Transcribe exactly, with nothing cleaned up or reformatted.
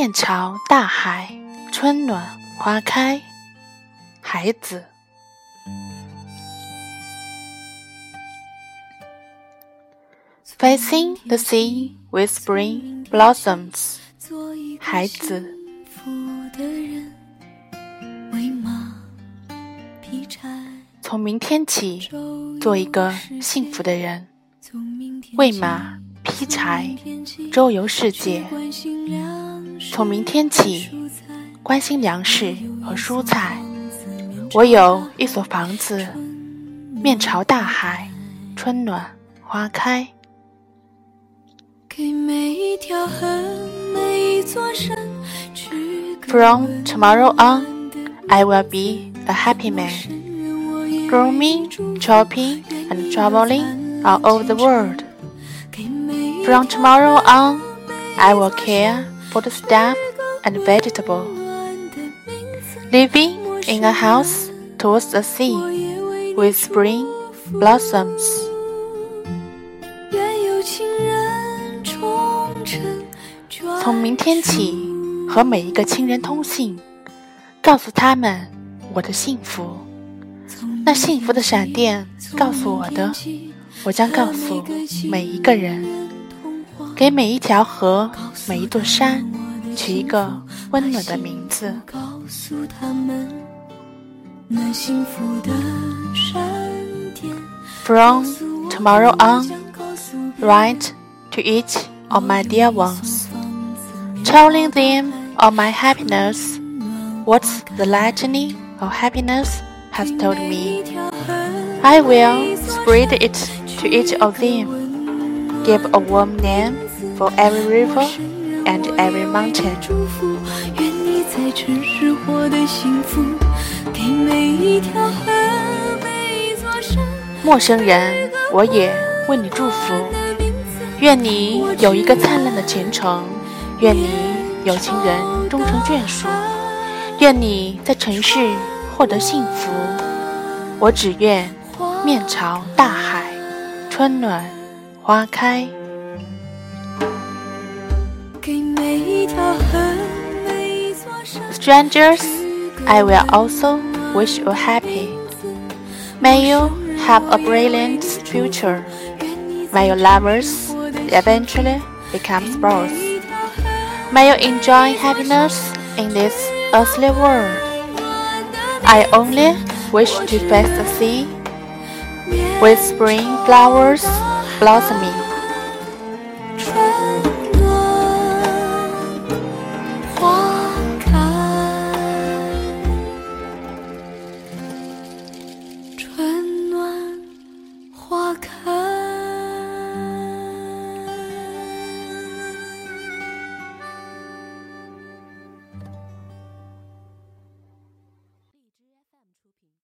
面朝大海，春暖花开。孩子。Facing the sea with spring blossoms. 孩子。从明天起，做一个幸福的人，喂马劈柴，周游世界。从明天起，关心粮食和蔬菜。我有一所房子，面朝大海，春暖花开。From tomorrow on, I will be a happy man, roaming, shopping, and traveling all over the world. From tomorrow on, I will care for the stuff and vegetable, living in a house towards the sea, with spring blossoms. 从明天起，和每一个亲人通信，告诉他们我的幸福。那幸福的闪电告诉我的，我将告诉每一个人。给每一条河，每一座山，取一个温暖的名字。From tomorrow on, write to each of my dear ones, telling them of my happiness, what the lightning of happiness has told me. I will spread it to each of them, give a warm name for every river and every mountain. 陌生人，我也为你祝福。愿你有一个灿烂的前程，愿你有情人终成眷属，愿你在城市获得幸福。我只愿面朝大海，春暖花开。Strangers, I will also wish you happy. May you have a brilliant future. May your lovers eventually become spouse. May you enjoy happiness in this earthly world. I only wish to face the sea with spring flowers blossoming.